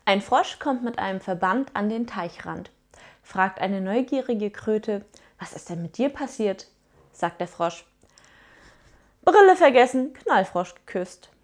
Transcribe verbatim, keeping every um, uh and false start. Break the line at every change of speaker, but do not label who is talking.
Ein Frosch kommt mit einem Verband an den Teichrand. Fragt eine neugierige Kröte: Was ist denn mit dir passiert? Sagt der Frosch: Brille vergessen, Knallfrosch geküsst.